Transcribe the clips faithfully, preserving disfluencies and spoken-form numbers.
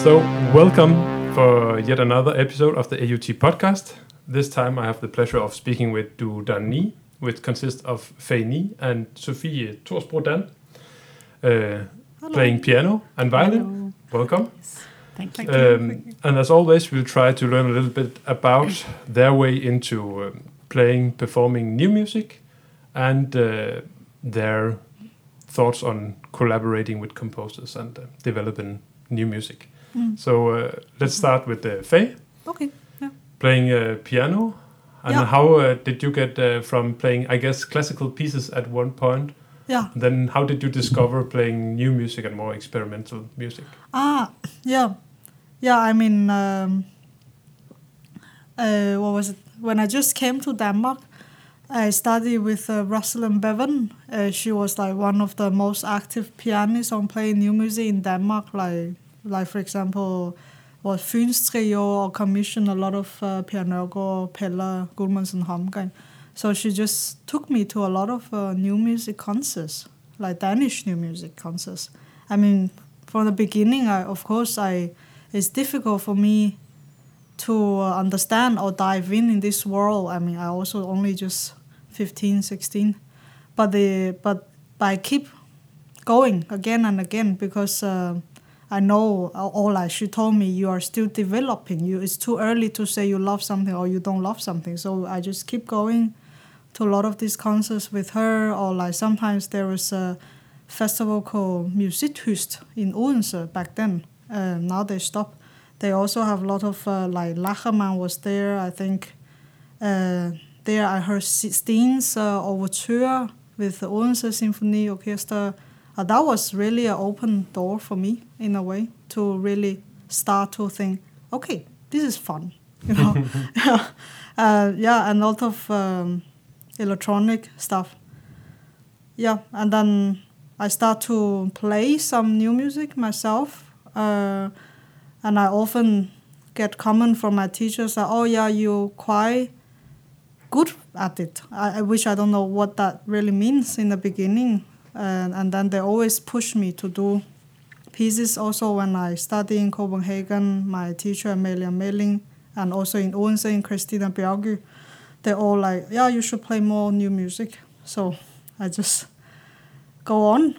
So, welcome for yet another episode of the A U T podcast. This time I have the pleasure of speaking with Du Dan Ni, which consists of Fei Ni and Sofie Torsbro Dan, uh, playing piano and violin. Hello. Welcome. Yes. Thank you. Um, and as always, we'll try to learn a little bit about their way into um, playing, performing new music, and uh, their thoughts on collaborating with composers and uh, developing new music. Mm. So uh, let's start with uh, Fei. Okay. Yeah. Playing uh, piano. And Yeah. how uh, did you get uh, from playing, I guess, classical pieces at one point? Yeah. Then how did you discover playing new music and more experimental music? Ah. Yeah. Yeah. I mean, um, uh, what was it? When I just came to Denmark, I studied with uh, Rosalind Bevan. Uh, she was like one of the most active pianists on playing new music in Denmark. Like, like for example, was Fyns Trio or commissioned a lot of uh, Pianørgaard, Pelle, Gudmundsen, Holmgren. So she just took me to a lot of uh, new music concerts, like Danish new music concerts. I mean, from the beginning, I, of course, I it's difficult for me to uh, understand or dive in in this world. I mean, I also only just fifteen, sixteen. But, the, but, but I keep going again and again because uh, I know, or like she told me, you are still developing. You It's too early to say you love something or you don't love something. So I just keep going to a lot of these concerts with her. Or like sometimes there was a festival called Musikhyst in Odense back then. Uh, now they stopped. They also have a lot of, uh, like Lacherman was there, I think. Uh, there I heard Steen's uh, Overture with the Odense Symphony Orchestra. Uh, that was really an open door for me, in a way, to really start to think, okay, this is fun, you know. yeah, uh, yeah, and a lot of um, electronic stuff. Yeah, and then I start to play some new music myself. Uh, and I often get comment from my teachers that, oh yeah, you're quite good at it, I, which I don't know what that really means in the beginning. Uh, and then they always push me to do pieces. Also, when I study in Copenhagen, my teacher Amalia Melling, and also in Odense in Christina Bjergy, they're all like, yeah, you should play more new music. So I just go on.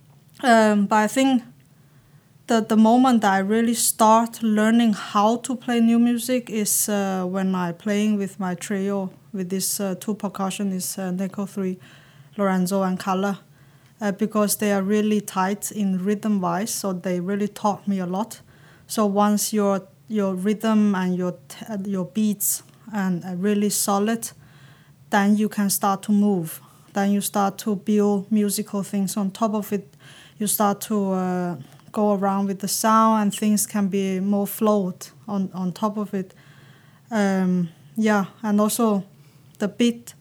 Um, but I think that the moment that I really start learning how to play new music is uh, when I'm playing with my trio, with these uh, two percussionists, uh, Neko three, Lorenzo and Kalle. Uh, because they are really tight in rhythm-wise, so they really taught me a lot. So once your your rhythm and your t- your beats and are really solid, then you can start to move. Then you start to build musical things on top of it. You start to uh, go around with the sound, and things can be more flowed on, on top of it. Um, yeah, and also the beat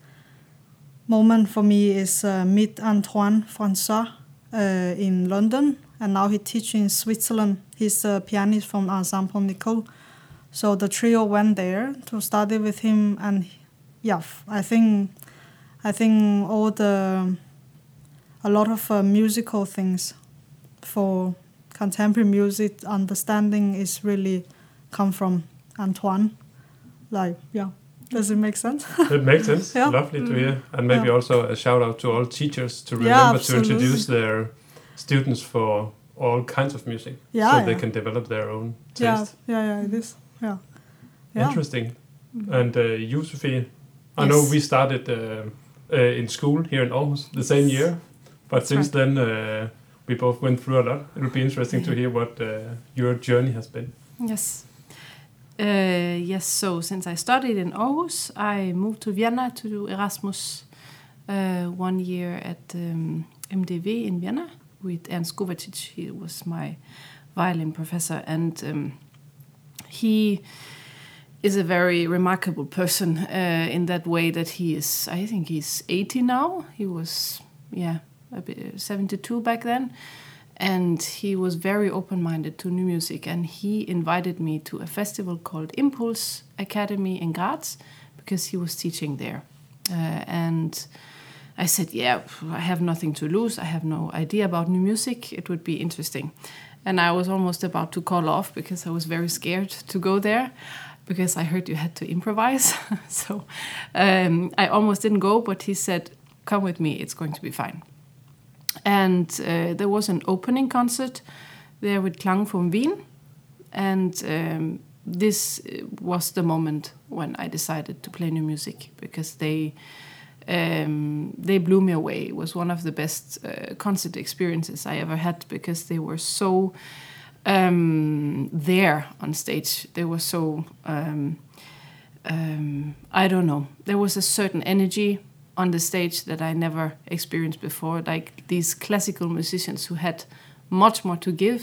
moment for me is uh, meet Antoine François uh, in London, and now he teaches in Switzerland. He's a pianist from Ensemble Nicole. So the trio went there to study with him, and yeah, I think I think all the a lot of uh, musical things for contemporary music understanding is really come from Antoine. Like, yeah. Does it make sense? It makes sense. Yeah. Lovely to hear. And maybe Yeah. also a shout out to all teachers to Yeah, remember to absolutely. introduce their students for all kinds of music, Yeah, so yeah. they can develop their own Yeah, taste. yeah, yeah, it is. Yeah. Yeah. Interesting. And uh, you, Sofie, I Yes. know we started uh, uh, in school here in Aarhus the same year, but That's since right. then uh, we both went through a lot. It will be interesting to hear what uh, your journey has been. Yes. Uh, yes, so since I studied in Aarhus, I moved to Vienna to do Erasmus uh, one year at um, M D V in Vienna with Ernst Kovacic. He was my violin professor, and um, he is a very remarkable person uh, in that way that he is, I think he's eighty now. He was, yeah, a bit seventy-two back then. And he was very open-minded to new music, and he invited me to a festival called Impulse Academy in Graz because he was teaching there. Uh, and I said, yeah, I have nothing to lose. I have no idea about new music. It would be interesting. and I was almost about to call off because I was very scared to go there, because I heard you had to improvise. So um, I almost didn't go, but he said, "Come with me, it's going to be fine." And uh, there was an opening concert there with Klangfon Wien, and um, this was the moment when I decided to play new music, because they um, they blew me away. It was one of the best uh, concert experiences I ever had, because they were so um, there on stage. They were so um, um, I don't know. There was a certain energy on the stage that I never experienced before. Like these classical musicians who had much more to give,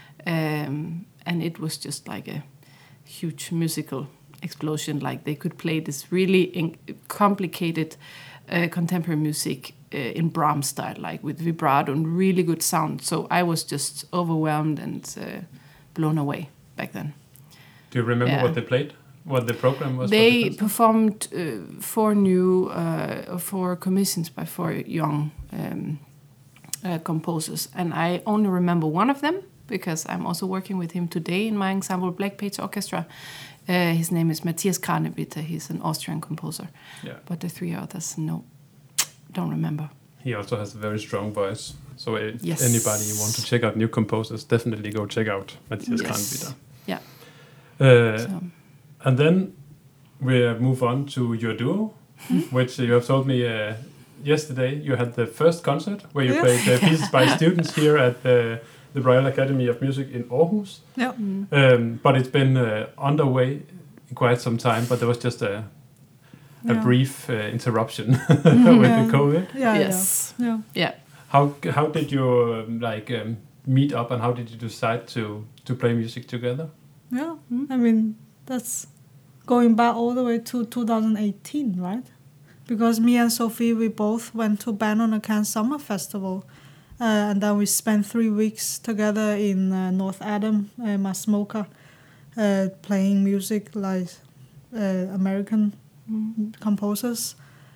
um, and it was just like a huge musical explosion. Like they could play this really in- complicated uh, contemporary music uh, in Brahms style, like with vibrato and really good sound. So I was just overwhelmed and uh, blown away back then. Do you remember Yeah. what they played? What the program was? They for the concert? performed uh, four new, uh, four commissions by four young um, uh, composers, and I only remember one of them because I'm also working with him today in my ensemble Black Page Orchestra. Uh, his name is Matthias Kranebitter. He's an Austrian composer. Yeah. But the three others, no, don't remember. He also has a very strong voice. So if Yes. anybody want to check out new composers, definitely go check out Matthias Yes. Kranebitter. Yeah. Uh, So, And then we move on to your duo, which you have told me uh, yesterday. You had the first concert where you Yeah. played uh, pieces by students here at the, the Royal Academy of Music in Aarhus. Yeah. mm, Um, but it's been uh, underway in quite some time, but there was just a, a Yeah. brief uh, interruption with Yeah. the COVID. Yeah. yes. Yeah. Yeah. Yeah. How how did you um, like um, meet up, and how did you decide to to play music together? Yeah. Mm. I mean, that's going back all the way to two thousand eighteen, right? Because me and Sophie, we both went to Bannon and Cannes Summer Festival. Uh, and then we spent three weeks together in uh, North Adam, uh, Masmoka, uh, playing music like uh, American Mm. composers.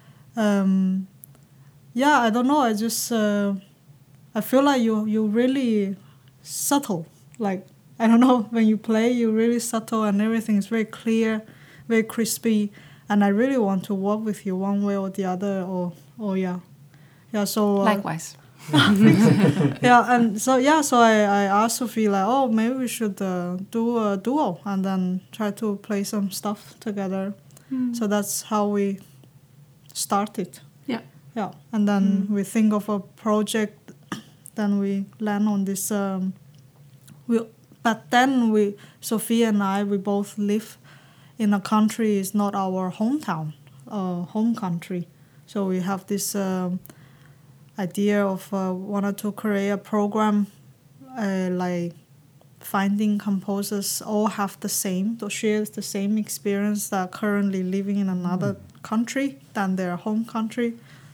Um, yeah, I don't know. I just uh, I feel like you you really subtle. Like I don't know, when you play, you're really subtle and everything is very clear, very crispy. And I really want to work with you one way or the other. Or or yeah, yeah. So uh, Likewise. yeah, and so yeah, so I, I asked Sophie like, oh, maybe we should uh, do a duo and then try to play some stuff together. Mm. So that's how we started. Yeah. Yeah, and then Mm. we think of a project, then we land on this. Um, we but then we Sophie and I we both live in a country is not our hometown, uh, home country. So we have this um, idea of uh, wanted to create a program, uh, like finding composers all have the same, to share the same experience that are currently living in another country than their home country,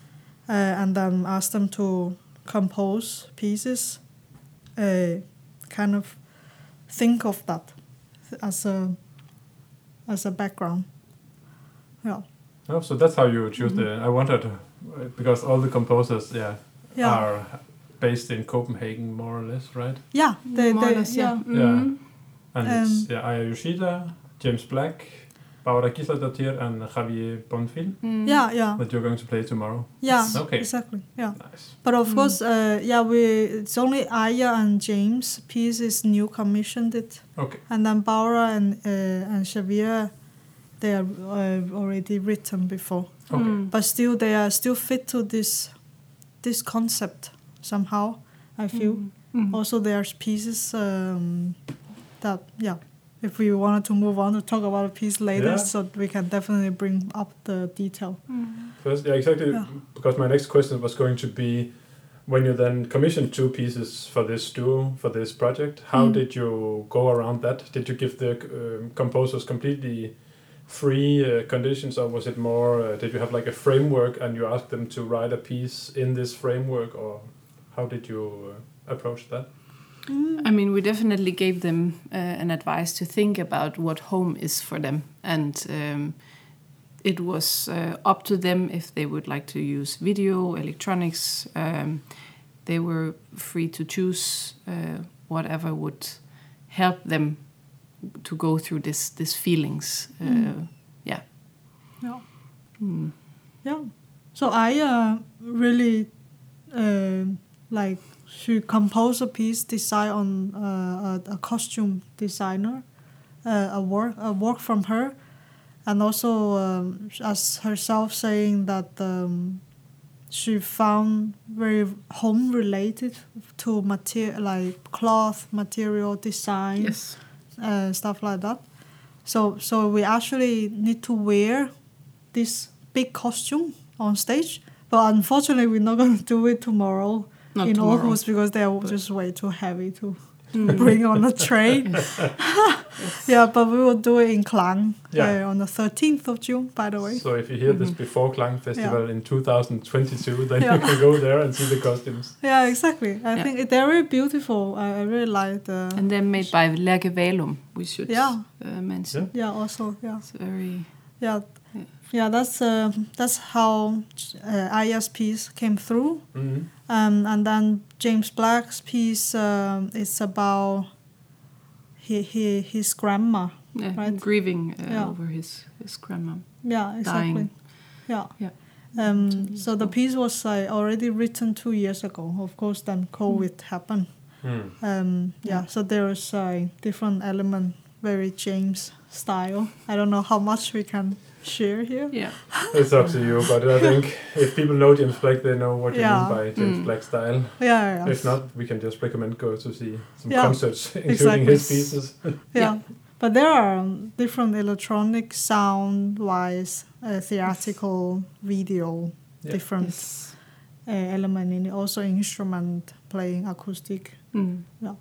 uh, and then ask them to compose pieces, uh, kind of think of that as a as a background. Yeah. Oh, so that's how you choose the. I wondered uh, because all the composers, yeah, Yeah. are based in Copenhagen, more or less, right? Yeah. They, More or they, less, yeah. yeah. Yeah. Mhm. And Um, it's yeah, Aya Yoshida, James Black, Barbara Gisler-Dottir, and Javier Bonfil Mm. Yeah. Yeah. that you're going to play tomorrow. Yeah. Okay. Exactly. Yeah. Nice. But of Mm. course, uh, yeah, we it's only Aya and James' piece is new commissioned it, Okay. and then Barbara and uh, and Xavier, they are uh, already written before. Okay. Mm. But still, they are still fit to this this concept somehow. I feel Mm. Mm. also there's pieces um, that yeah. If we wanted to move on to talk about a piece later, Yeah. so we can definitely bring up the detail. Mm. First, yeah, exactly. Yeah. Because my next question was going to be, when you then commissioned two pieces for this duo, for this project, how Mm. did you go around that? Did you give the um, composers completely free uh, conditions, or was it more? Uh, did you have like a framework and you asked them to write a piece in this framework, or how did you uh, approach that? I mean, we definitely gave them uh, an advice to think about what home is for them, and um, it was uh, up to them if they would like to use video, electronics. Um, they were free to choose uh, whatever would help them to go through this this feelings. Uh, Mm. Yeah. Yeah. Mm. Yeah. So I uh, really uh, like she composed a piece designed on uh, a, a costume designer, uh, a work a work from her, and also um, as herself saying that um, she found very home related to material like cloth material design, Yes. uh, stuff like that. So so we actually need to wear this big costume on stage, but unfortunately we're not going to do it tomorrow Not in tomorrow. Aarhus because they're just way too heavy to bring on a train. Yeah, but we will do it in Klang Yeah. uh, on the thirteenth of June, by the way. So if you hear this before Klang Festival Yeah. in two thousand twenty-two, then Yeah. you can go there and see the costumes. Yeah, exactly. I Yeah. think they're very beautiful. I, I really like the... And they're made by Lærke Valum, we should Yeah. uh, mention. Yeah, also, yeah. It's very... Yeah, Yeah. yeah. That's uh, that's how uh, Aya's piece came through, Mm-hmm. um, and then James Black's piece um, is about he, he his grandma. Yeah, Right. grieving uh, Yeah. over his, his grandma. Yeah, exactly. Dying. Yeah. Yeah. Um, Two years so the ago. piece was uh, already written two years ago. Of course, then COVID happened. Mm. Um, yeah, so there is a different element, very James style. I don't know how much we can share here. Yeah. It's up to you, but I think if people know James Black, they know what you Yeah. mean by James Mm. Black style. Yeah, yeah, If not, we can just recommend go to see some Yeah, concerts, including exactly. his pieces. yeah. Yeah. But there are um, different electronic sound-wise, uh, theatrical, video, Yeah. different Yes. uh, element in it. Also instrument playing, acoustic. Mm. Yeah.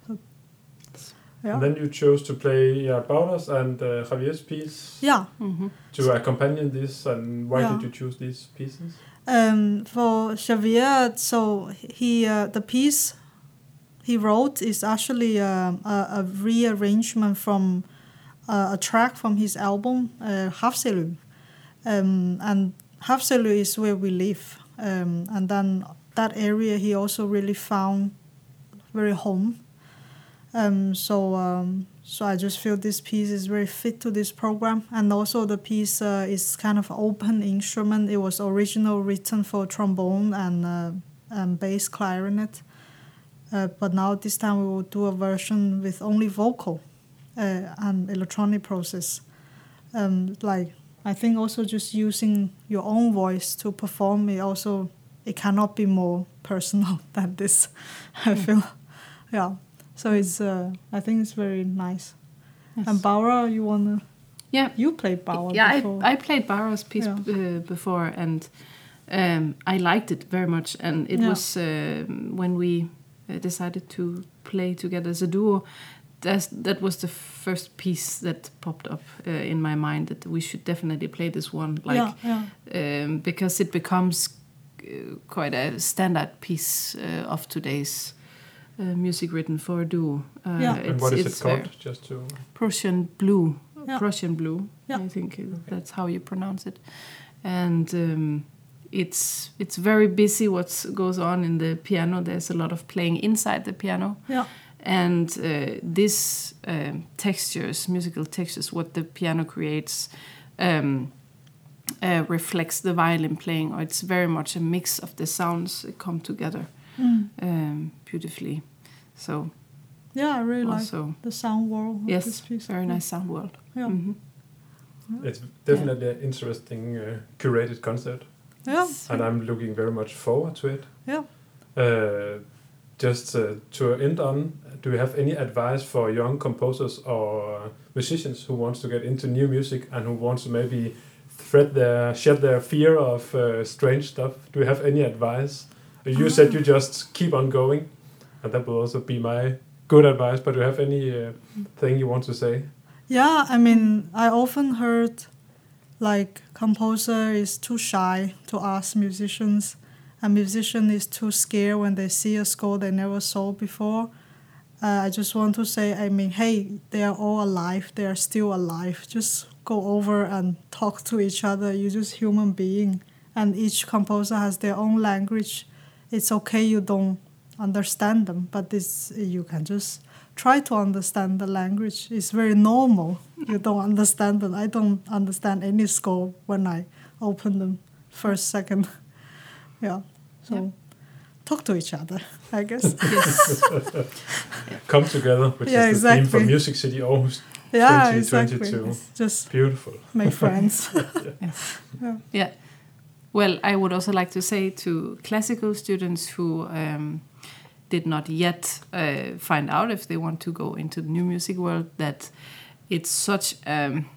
And then you chose to play yeah, Baudas and uh, Javier's piece Yeah. Mm-hmm. to accompany this. And why Yeah. did you choose these pieces? Um, for Xavier, so he uh, the piece he wrote is actually um, a, a rearrangement from uh, a track from his album uh, Havselu, um, and Havselu is where we live, um, and then that area he also really found very home. Um, so um, so I just feel this piece is very fit to this program, and also the piece uh, is kind of open instrument. It was originally written for trombone and uh, and bass clarinet, uh, but now this time we will do a version with only vocal uh, and electronic process. Um, like I think also just using your own voice to perform it also it cannot be more personal than this. I feel, yeah. So it's uh, I think it's very nice. Yes. And Barbara, you wanna? Yeah. You played Barbara Yeah, before. I, I played Barbara's piece Yeah. uh, before, and um, I liked it very much. And it Yeah. was uh, when we uh, decided to play together as a duo. That's, that was the first piece that popped up uh, in my mind that we should definitely play this one, like yeah, yeah. um, because it becomes uh, quite a standard piece uh, of today's uh, music written for a duo. Uh, Yeah. And what is it it's called? very- Just to Prussian Blue. Yeah. Prussian Blue. Yeah. I think that's how you pronounce it. And um, it's it's very busy what goes on in the piano. There's a lot of playing inside the piano. Yeah. And uh, this um, textures, musical textures, what the piano creates, um, uh, reflects the violin playing, or it's very much a mix of the sounds that come together Mm. um, beautifully. So Yeah, I really also, like the sound world of this yes, piece. very nice sound world. Yeah. Mhm. it's definitely an interesting uh, curated concert, Yeah. and I'm looking very much forward to it. Yeah. Uh, just uh, to end on, do you have any advice for young composers or musicians who wants to get into new music and who wants to maybe thread their shed their fear of uh, strange stuff? Do you have any advice? You said you just keep on going, and that will also be my good advice. But do you have any uh, thing you want to say? Yeah, I mean, I often heard like composer is too shy to ask musicians. A musician is too scared when they see a score they never saw before. Uh, I just want to say, I mean, hey, they are all alive. They are still alive. Just go over and talk to each other. You're just human being. And each composer has their own language. It's okay you don't understand them, but this you can just try to understand the language. It's very normal. You don't understand them. I don't understand any score when I open them first, second. Yeah. So Yeah. talk to each other, I guess. Yes. Come together, which Yeah, is the theme for exactly. Music City Aarhus Yeah, twenty exactly. twenty-two. It's just Beautiful. make friends. Yes. Yeah. Yeah. Well, I would also like to say to classical students who um, did not yet uh, find out if they want to go into the new music world that it's such um,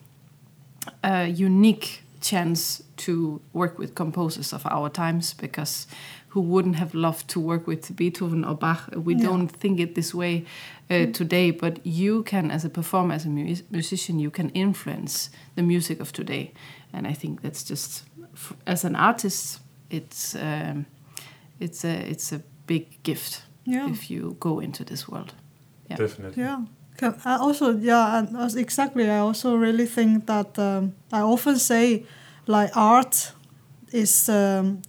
a unique chance to work with composers of our times, because who wouldn't have loved to work with Beethoven or Bach? We Yeah. don't think it this way uh, today, but you can, as a performer, as a mu- musician, you can influence the music of today. And I think that's just, f- as an artist, it's um, it's a it's a big gift Yeah. if you go into this world. Yeah. Definitely. Yeah. Can- I also, yeah, and as- exactly. I also really think that um, I often say, like, art is um,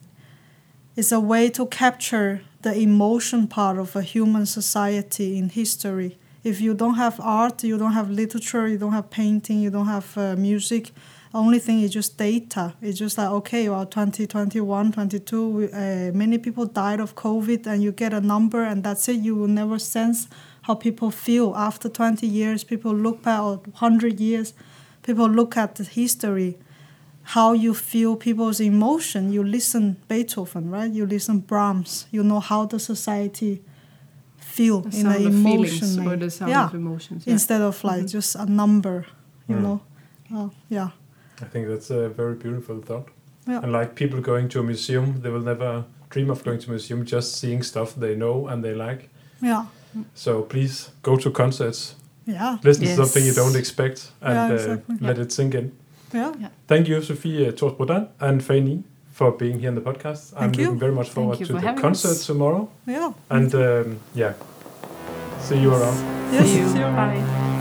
is a way to capture the emotion part of a human society in history. If you don't have art, you don't have literature, you don't have painting, you don't have uh, music. Only thing is just data. It's just like, okay, well, twenty twenty-one, twenty-two, we, uh, many people died of COVID, and you get a number, and that's it. You will never sense how people feel after twenty years. People look back, or one hundred years, people look at the history, how you feel people's emotion. You listen Beethoven, right? You listen Brahms. You know how the society feel The in an sound of feelings emotion. or the sound yeah. of emotions. Yeah. Instead of like Mhm. just a number, you Mm. know. Uh, yeah. I think that's a very beautiful thought. Yeah. And like people going to a museum, they will never dream of going to a museum, just seeing stuff they know and they like. Yeah. So please go to concerts, Yeah. listen Yes. to something you don't expect, and Yeah, uh, exactly. let it sink in. Yeah. Thank you, Sofie Torsbrodan and Fanny, for being here in the podcast. Thank I'm you. looking very much forward you to for the having concert us. tomorrow. Yeah. And um, yeah, see you around. Yes. See you. see you around. Bye.